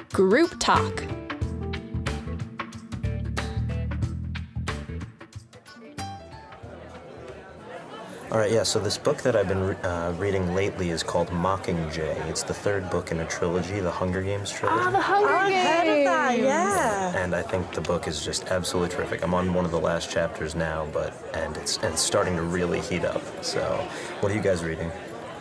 Group Talk. All right, yeah, so this book that I've been reading lately is called Mockingjay. It's the third book in a trilogy, the Hunger Games trilogy. The Hunger Games! I've heard of that, yeah. And I think the book is just absolutely terrific. I'm on one of the last chapters now, and it's starting to really heat up. So, what are you guys reading?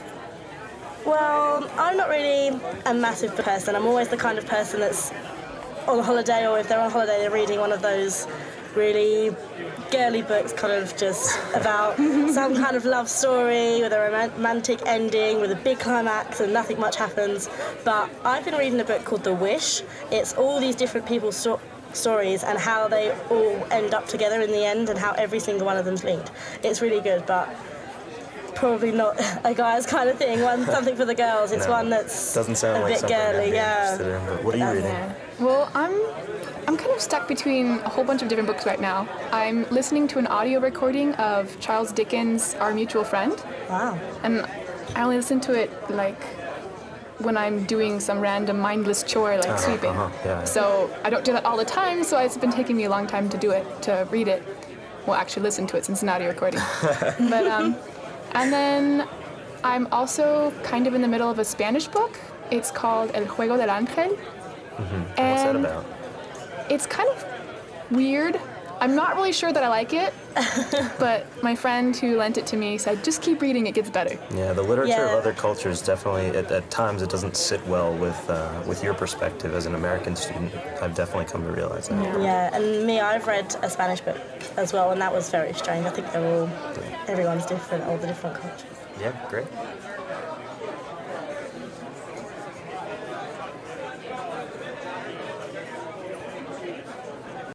Well, I'm not really a massive person. I'm always the kind of person that's on holiday, or if they're on holiday, they're reading one of those really girly books, kind of just about some kind of love story with a romantic ending, with a big climax and nothing much happens. But I've been reading a book called The Wish. It's all these different people's stories and how they all end up together in the end and how every single one of them's linked. It's really good, but probably not a guy's kind of thing. Something for the girls. It's one that's doesn't sound a like bit something I'd girly, be yeah. interested in, but what are you reading? Well, I'm kind of stuck between a whole bunch of different books right now. I'm listening to an audio recording of Charles Dickens' Our Mutual Friend. Wow. And I only listen to it like when I'm doing some random mindless chore like sweeping. Yeah. So I don't do that all the time, so it's been taking me a long time to do it, to read it. Well, actually listen to it since it's an audio recording. But and then I'm also kind of in the middle of a Spanish book. It's called El Juego del Ángel. What's that about? It's kind of weird. I'm not really sure that I like it, but my friend who lent it to me said, just keep reading, it gets better. Yeah, the literature of Yeah. other cultures definitely, at times, it doesn't sit well with your perspective as an American student. I've definitely come to realize that. Yeah, and I've read a Spanish book as well, and that was very strange. I think everyone's different, all the different cultures. Yeah, great.